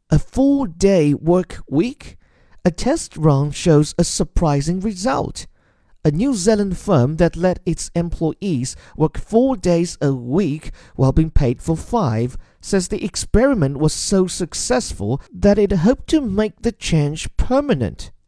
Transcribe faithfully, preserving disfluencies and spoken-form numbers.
A four-day work week? A test run shows a surprising result. A New Zealand firm that let its employees work four days a week while being paid for five says the experiment was so successful that it hoped to make the change permanent.